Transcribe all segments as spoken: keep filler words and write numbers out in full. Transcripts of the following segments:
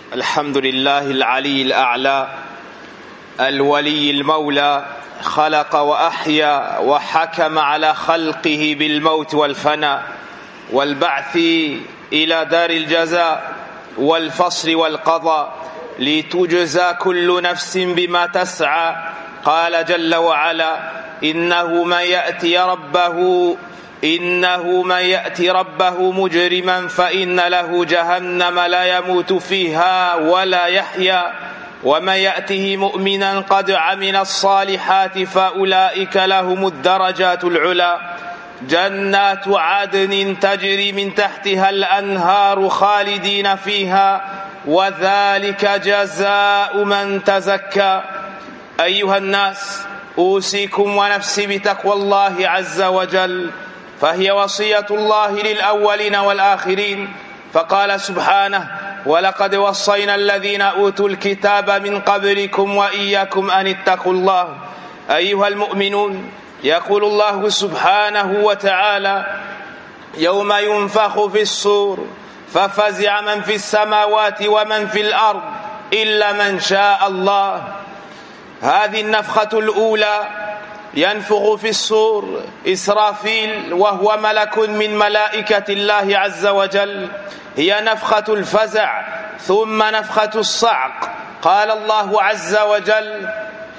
الحمد لله العلي الأعلى الولي المولى خلق وأحيا وحكم على خلقه بالموت والفناء والبعث إلى دار الجزاء والفصل والقضاء لتجزى كل نفس بما تسعى. قال جل وعلا: إنه من يأتي ربه إنه من يأتي ربه مجرما فإن له جهنم لا يموت فيها ولا يحيا، ومن يأته مؤمنا قد عمل الصالحات فأولئك لهم الدرجات العلى، جنات عدن تجري من تحتها الأنهار خالدين فيها، وذلك جزاء من تزكى. أيها الناس، أوصيكم ونفسي بتقوى الله عز وجل، فهي وصية الله للأولين والآخرين. فقال سبحانه: ولقد وصينا الذين أوتوا الكتاب من قبلكم وإياكم أن اتقوا الله. أيها المؤمنون، يقول الله سبحانه وتعالى: يوم ينفخ في الصور ففزع من في السماوات ومن في الأرض إلا من شاء الله. هذه النفخة الأولى ينفخ في الصور إسرافيل وهو ملك من ملائكة الله عز وجل، هي نفخة الفزع ثم نفخة الصعق. قال الله عز وجل: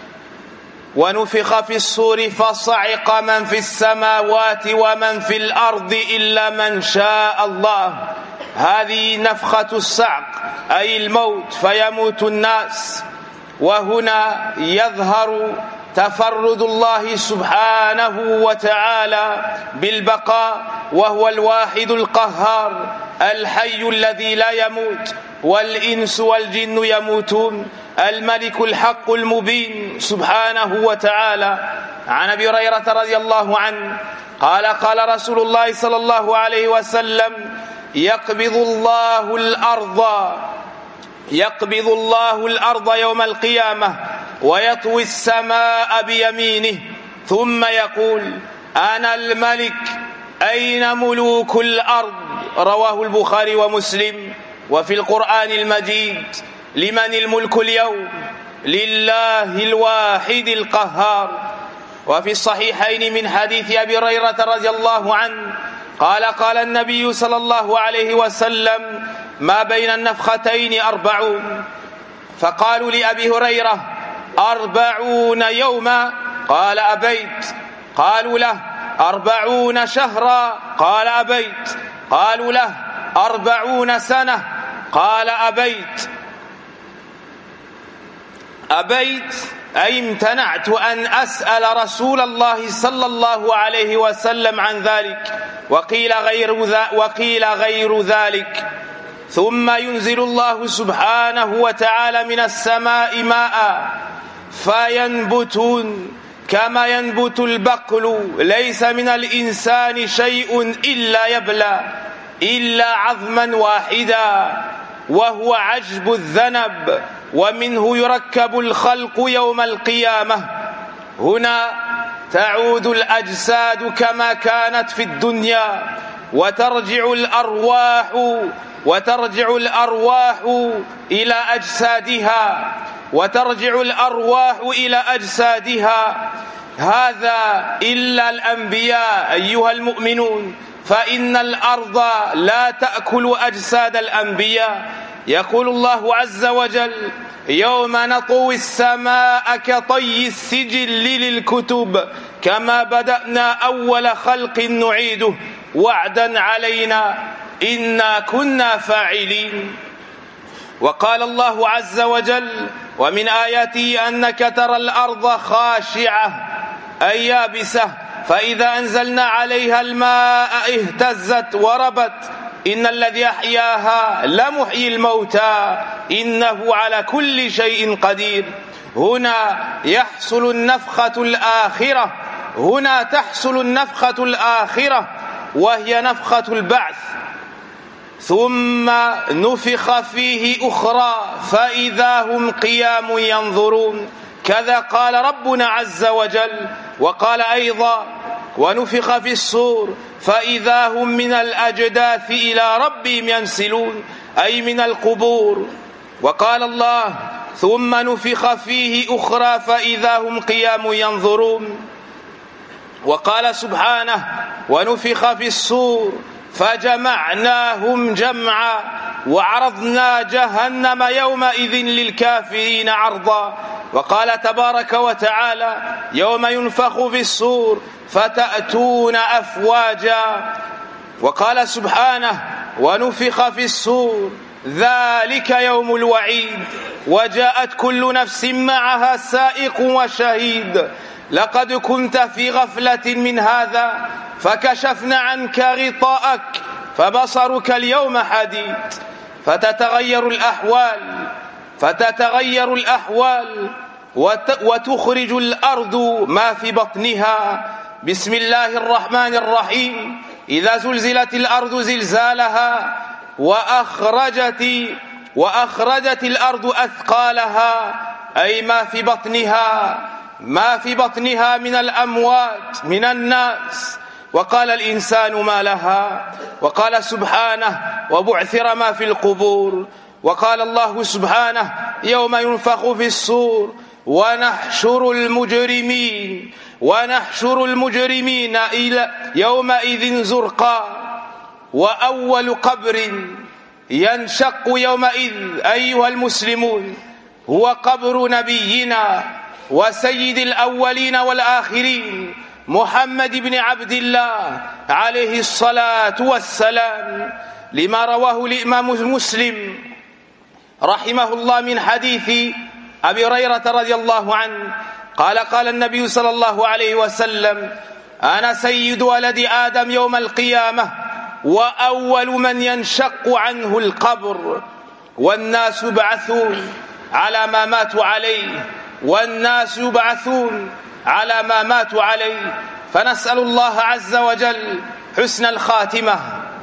ونفخ في الصور فصعق من في السماوات ومن في الأرض إلا من شاء الله. هذه نفخة الصعق أي الموت، فيموت الناس. وهنا يظهر تفرد الله سبحانه وتعالى بالبقاء، وهو الواحد القهار الحي الذي لا يموت، والإنس والجن يموتون، الملك الحق المبين سبحانه وتعالى. عن أبي هريرة رضي الله عنه قال: قال رسول الله صلى الله عليه وسلم: يقبض الله الأرض يقبض الله الأرض يوم القيامة ويطوي السماء بيمينه ثم يقول: أنا الملك أين ملوك الأرض؟ رواه البخاري ومسلم. وفي القرآن المجيد: لمن الملك اليوم؟ لله الواحد القهار. وفي الصحيحين من حديث أبي هريرة رضي الله عنه قال: قال النبي صلى الله عليه وسلم: ما بين النفختين أربعون. فقالوا لأبي هريرة: أربعون يوما؟ قال: أبيت. قالوا له: أربعون شهرا؟ قال: أبيت. قالوا له: أربعون سنة؟ قال: أبيت. أبيت أي امتنعت أن أسأل رسول الله صلى الله عليه وسلم عن ذلك. وقيل غير, وقيل غير ذلك. ثم ينزل الله سبحانه وتعالى من السماء ماء فينبتون كما ينبت البقل، ليس من الإنسان شيء إلا يبلى إلا عظما واحدا وهو عجب الذنب، ومنه يركب الخلق يوم القيامة. هنا تعود الأجساد كما كانت في الدنيا، وترجع الأرواح وترجع الأرواح إلى أجسادها وترجع الأرواح إلى أجسادها. هذا إلا الأنبياء أيها المؤمنون، فإن الأرض لا تأكل أجساد الأنبياء. يقول الله عز وجل: يوم نطوي السماء كطي السجل للكتب كما بدأنا أول خلق نعيده وعدا علينا إنا كنا فاعلين. وقال الله عز وجل: ومن آياته أنك ترى الأرض خاشعة أي يابسة فإذا أنزلنا عليها الماء اهتزت وربت إن الذي أحياها لمحيي الموتى إنه على كل شيء قدير. هنا يحصل النفخة الآخرة هنا تحصل النفخة الآخرة وهي نفخة البعث، ثم نفخ فيه أخرى فإذا هم قيام ينظرون. كذا قال ربنا عز وجل. وقال أيضا: ونفخ في الصور فإذا هم من الأجداث إلى ربهم ينسلون، أي من القبور. وقال الله ثم نفخ فيه أخرى فإذا هم قيام ينظرون وقال سبحانه ونفخ في الصور فجمعناهم جمعا وعرضنا جهنم يومئذ للكافرين عرضا وقال تبارك وتعالى يوم ينفخ في الصور فتأتون أفواجا وقال سبحانه ونفخ في الصور ذلك يوم الوعيد وجاءت كل نفس معها سائق وشهيد لقد كنت في غفلة من هذا فكشفنا عنك غطاءك فبصرك اليوم حديد فتتغير الأحوال فتتغير الأحوال وتخرج الأرض ما في بطنها بسم الله الرحمن الرحيم إذا زلزلت الأرض زلزالها وأخرجت وأخرجت الأرض أثقالها أي ما في بطنها ما في بطنها من الأموات من الناس وقال الإنسان ما لها وقال سبحانه وبعثر ما في القبور وقال الله سبحانه يوم ينفخ في الصور ونحشر المجرمين ونحشر المجرمين إلى يومئذ زرقا وأول قبر ينشق يومئذ أيها المسلمون هو قبر نبينا وسيد الأولين والآخرين محمد بن عبد الله عليه الصلاة والسلام لما رواه الإمام مسلم رحمه الله من حديث أبي هريرة رضي الله عنه قال قال النبي صلى الله عليه وسلم أنا سيد ولد آدم يوم القيامة وأول من ينشق عنه القبر والناس يبعثون على ما ماتوا عليه والناس يبعثون على ما ماتوا عليه فنسأل الله عز وجل حسن الخاتمة.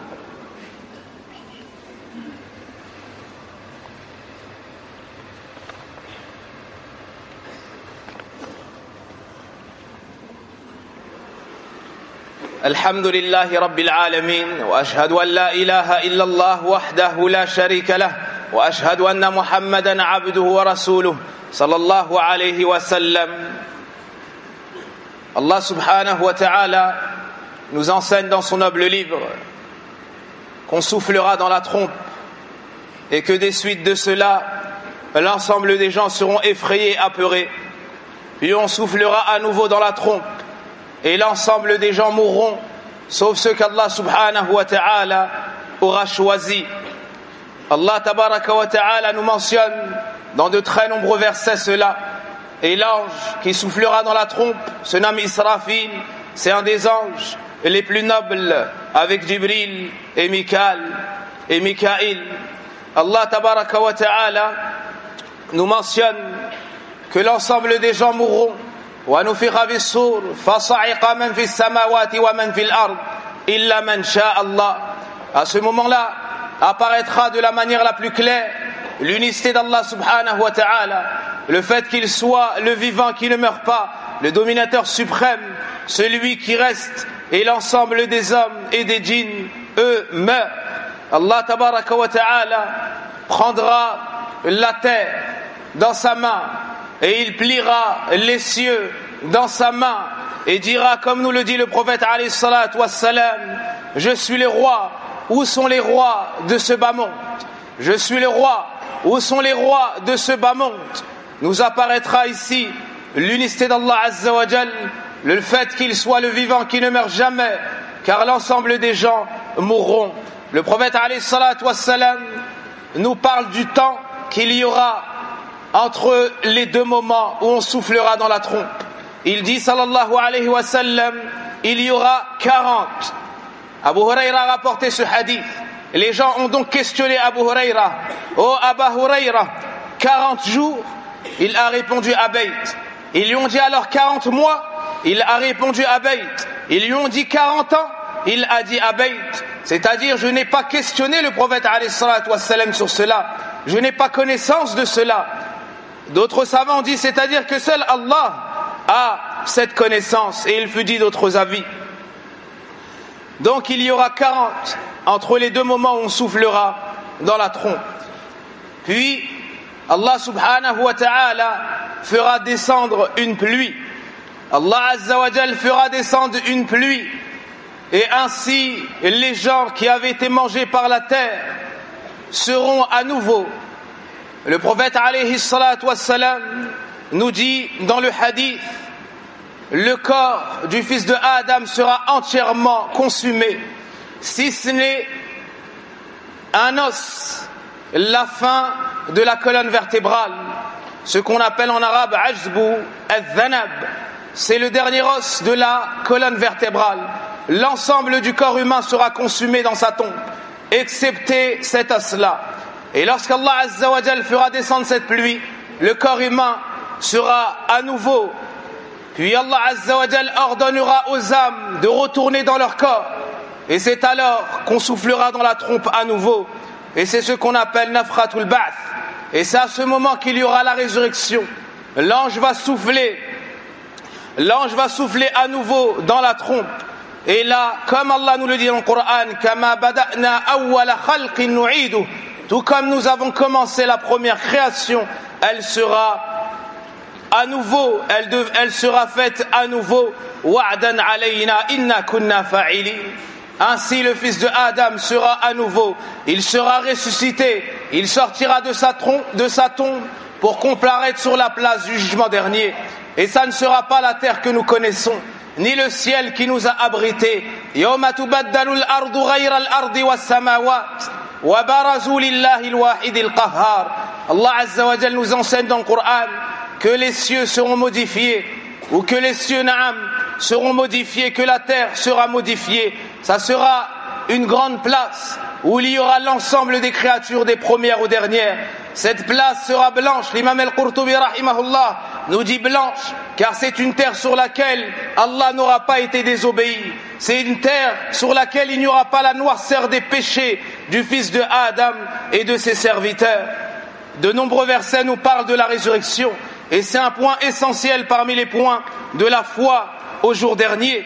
الحمد لله رب العالمين وأشهد أن لا إله إلا الله وحده لا شريك له وأشهد أن محمدا عبده ورسوله صلى الله عليه وسلم. Allah subhanahu wa ta'ala nous enseigne dans son noble livre qu'on soufflera dans la trompe et que des suites de cela l'ensemble des gens seront effrayés, apeurés, puis on soufflera à nouveau dans la trompe et l'ensemble des gens mourront sauf ceux qu'Allah subhanahu wa ta'ala aura choisi. Allah tabaraka wa ta'ala nous mentionne dans de très nombreux versets cela. Et l'ange qui soufflera dans la trompe se nomme Israfil, c'est un des anges les plus nobles avec Jibril et Mikaël et Mikaïl. Allah tabaraka wa ta'ala nous mentionne que l'ensemble des gens mourront. Wa nufikha bis-sur fasa'iqa man fis samawati wa man fil ard illa man sha Allah. À ce moment-là apparaîtra de la manière la plus claire l'unicité d'Allah subhanahu wa ta'ala, le fait qu'il soit le vivant qui ne meurt pas, le dominateur suprême, celui qui reste, et l'ensemble des hommes et des djinns, eux, meurent. Allah tabaraka wa ta'ala prendra la terre dans sa main et il pliera les cieux dans sa main et dira, comme nous le dit le prophète alayhi salatu wassalam, je suis le roi, où sont les rois de ce bas monde? Je suis le roi, où sont les rois de ce bas monde? Nous apparaîtra ici l'unicité d'Allah Azza wa Jal, le fait qu'il soit le vivant qui ne meurt jamais, car l'ensemble des gens mourront. Le prophète alayhi salatu wassalam nous parle du temps qu'il y aura entre les deux moments où on soufflera dans la trompe. Il dit sallallahu alayhi wa sallam, il y aura quarante. Abu Huraira a rapporté ce hadith. Les gens ont donc questionné Abu Huraira. Oh Abu Huraira, quarante jours? Il a répondu Abayt. Ils lui ont dit alors quarante mois? Il a répondu Abayt. Ils lui ont dit quarante ans? Il a dit Abayt. C'est-à-dire, je n'ai pas questionné le prophète alayhi salatu wassalam sur cela. Je n'ai pas connaissance de cela. D'autres savants disent, c'est-à-dire que seul Allah a cette connaissance, et il fut dit d'autres avis. Donc il y aura quarante entre les deux moments où on soufflera dans la trompe. Puis Allah subhanahu wa ta'ala fera descendre une pluie. Allah azza wa jal fera descendre une pluie. Et ainsi, les gens qui avaient été mangés par la terre seront à nouveau. Le prophète alayhi salatu wassalam nous dit dans le hadith, le corps du fils de Adam sera entièrement consumé, si ce n'est un os, la fin de la colonne vertébrale, ce qu'on appelle en arabe ajzbu al-dhanab, c'est le dernier os de la colonne vertébrale. L'ensemble du corps humain sera consumé dans sa tombe, excepté cet os-là. Et lorsqu'Allah azza wa jal fera descendre cette pluie, le corps humain sera à nouveau. Puis Allah azza wa jal ordonnera aux âmes de retourner dans leur corps. Et c'est alors qu'on soufflera dans la trompe à nouveau. Et c'est ce qu'on appelle nafratul ba'th. Et c'est à ce moment qu'il y aura la résurrection. L'ange va souffler. L'ange va souffler à nouveau dans la trompe. Et là, comme Allah nous le dit dans le Coran, kama bada'na awwala khalqin nu'idu, tout comme nous avons commencé la première création, elle sera à nouveau, elle, de, elle sera faite à nouveau. Wa'dan alayna inna kunna fa'ilin. Ainsi le fils de Adam sera à nouveau, il sera ressuscité, il sortira de sa, trom- de sa tombe pour comparaître sur la place du jugement dernier. Et ça ne sera pas la terre que nous connaissons, ni le ciel qui nous a abrités. Yawma tubaddalu al-ardu ghayra al-ardi was-samawat wa barazu lillahi al-wahid al-qahhar. Allah azza wa jalla nous enseigne dans le Coran que les cieux seront modifiés, ou que les cieux na'am seront modifiés, que la terre sera modifiée. Ça sera une grande place où il y aura l'ensemble des créatures, des premières aux dernières. Cette place sera blanche. L'imam al-Qurtubi rahimahullah nous dit blanche, car c'est une terre sur laquelle Allah n'aura pas été désobéi. C'est une terre sur laquelle il n'y aura pas la noirceur des péchés du fils de Adam et de ses serviteurs. De nombreux versets nous parlent de la résurrection, et c'est un point essentiel parmi les points de la foi au jour dernier.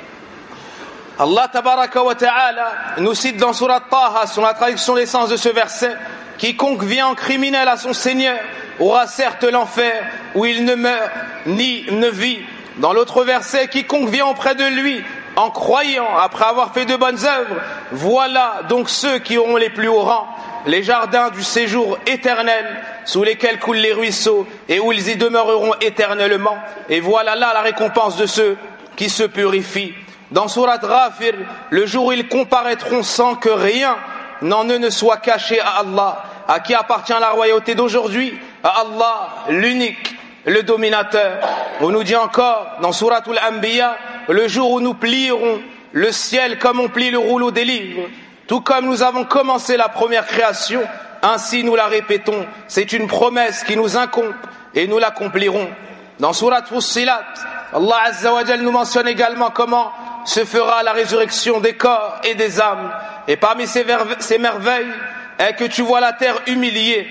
Allah tabaraka wa ta'ala nous cite dans Surat Taha, sur la traduction des sens de ce verset, quiconque vient en criminel à son Seigneur aura certes l'enfer où il ne meurt ni ne vit. Dans l'autre verset, quiconque vient auprès de lui en croyant après avoir fait de bonnes œuvres, voilà donc ceux qui auront les plus hauts rangs, les jardins du séjour éternel sous lesquels coulent les ruisseaux et où ils y demeureront éternellement. Et voilà là la récompense de ceux qui se purifient. Dans Surat Ghafir, le jour où ils comparaîtront sans que rien n'en eux ne soit caché à Allah, à qui appartient la royauté d'aujourd'hui, à Allah, l'unique, le dominateur. On nous dit encore dans Suratul Anbiya, le jour où nous plierons le ciel comme on plie le rouleau des livres, tout comme nous avons commencé la première création, ainsi nous la répétons. C'est une promesse qui nous incombe et nous l'accomplirons. Dans Surat Fussilat, Allah Azza wa Jal nous mentionne également comment se fera la résurrection des corps et des âmes. Et parmi ces, verve- ces merveilles est que tu vois la terre humiliée.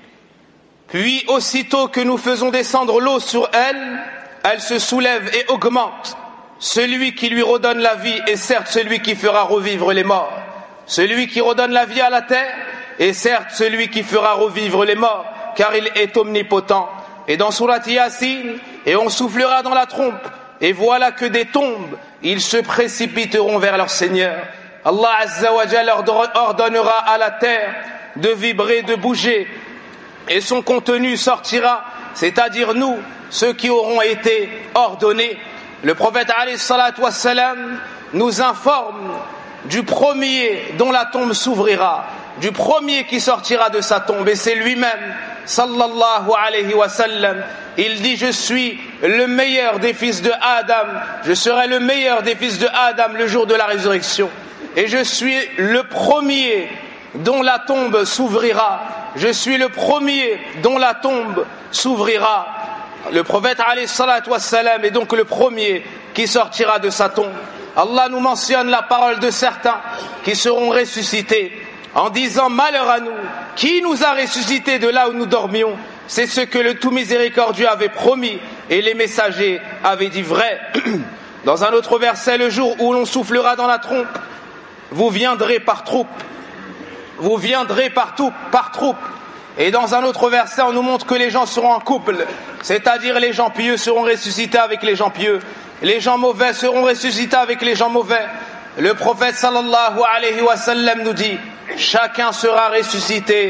Puis aussitôt que nous faisons descendre l'eau sur elle, elle se soulève et augmente. Celui qui lui redonne la vie est certes celui qui fera revivre les morts. Celui qui redonne la vie à la terre est certes celui qui fera revivre les morts, car il est omnipotent. Et dans Surat Yasin, et on soufflera dans la trompe, et voilà que des tombes, ils se précipiteront vers leur Seigneur. Allah Azza wa Jalla ordonnera à la terre de vibrer, de bouger, et son contenu sortira, c'est-à-dire nous, ceux qui auront été ordonnés. Le prophète alayhi salatu wassalam nous informe du premier dont la tombe s'ouvrira, du premier qui sortira de sa tombe, et c'est lui-même, sallallahu alayhi wa sallam. Il dit: je suis le meilleur des fils de Adam, je serai le meilleur des fils de Adam le jour de la résurrection, et je suis le premier dont la tombe s'ouvrira, je suis le premier dont la tombe s'ouvrira. Le prophète alayhi salatu wassalam est donc le premier qui sortira de sa tombe. Allah nous mentionne la parole de certains qui seront ressuscités en disant: malheur à nous, qui nous a ressuscités de là où nous dormions? C'est ce que le tout miséricordieux avait promis et les messagers avaient dit vrai. Dans un autre verset, le jour où l'on soufflera dans la trompe, vous viendrez par troupes, vous viendrez par, tout, par troupes, Et dans un autre verset, on nous montre que les gens seront en couple, c'est-à-dire les gens pieux seront ressuscités avec les gens pieux, les gens mauvais seront ressuscités avec les gens mauvais. Le prophète sallallahu alayhi wa sallam nous dit, chacun sera ressuscité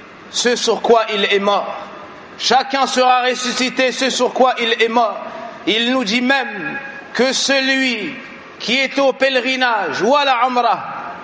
ce sur quoi il est mort. Chacun sera ressuscité ce sur quoi il est mort. Il nous dit même que celui qui est au pèlerinage ou à la Umrah,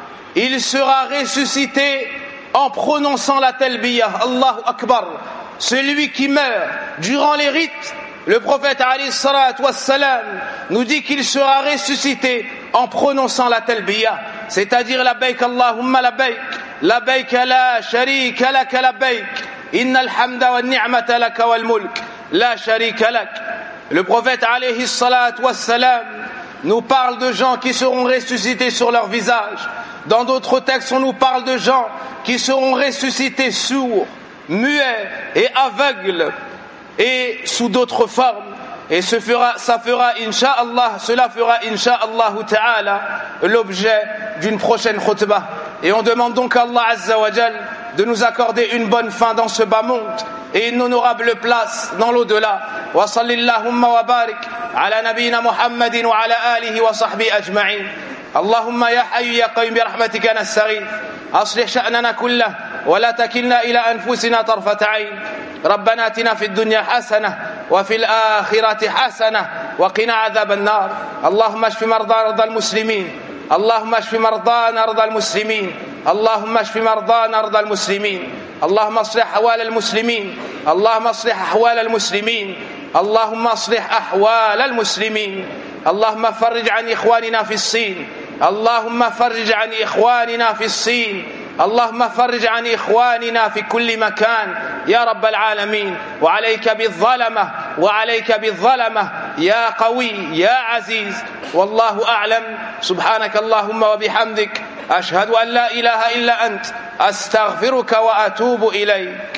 il sera ressuscité en prononçant la talbiyah, Allahu Akbar. Celui qui meurt durant les rites, le prophète alayhi salatu wassalam nous dit qu'il sera ressuscité en prononçant la talbiyah, c'est-à-dire labbaik Allahumma labbaik, labbaik la sharika lak labbaik, innal hamda wan ni'mata lak wal mulk, la sharika lak. Le prophète alayhi salatu wassalam nous parle de gens qui seront ressuscités sur leur visage. Dans d'autres textes, on nous parle de gens qui seront ressuscités sourds, muets et aveugles, et sous d'autres formes. Et ce fera, ça fera, incha'Allah, cela fera, incha'Allah ta'ala, l'objet d'une prochaine khutbah. Et on demande donc à Allah Azza wa Jal de nous accorder une bonne fin dans ce bas monde et une honorable place dans l'au-delà. Wa sallillahumma wa barik ala nabina Muhammadin wa ala alihi wa sahbihi ajma'in. Allahumma ya hayyu ya qayyum bi rahmatika nastaghith. Aslih sha'nana kullah wa la takilna ila anfusina tarfat 'ayn. ربنا آتنا في الدنيا حسنة وفي الآخرة حسنة وقنا عذاب النار. اللهم اشف مرضى المسلمين. اللهم اشف مرضانا مرضى المسلمين. اللهم اشف مرضانا مرضى المسلمين. اللهم اصلح أحوال المسلمين. اللهم اصلح أحوال المسلمين. اللهم اصلح أحوال المسلمين. اللهم فرج عن إخواننا في الصين. اللهم فرج عن إخواننا في الصين. اللهم فرج عن إخواننا في كل مكان يا رب العالمين. وعليك بالظلمة وعليك بالظلمة يا قوي يا عزيز. والله أعلم. سبحانك اللهم وبحمدك أشهد أن لا إله إلا أنت أستغفرك وأتوب إليك.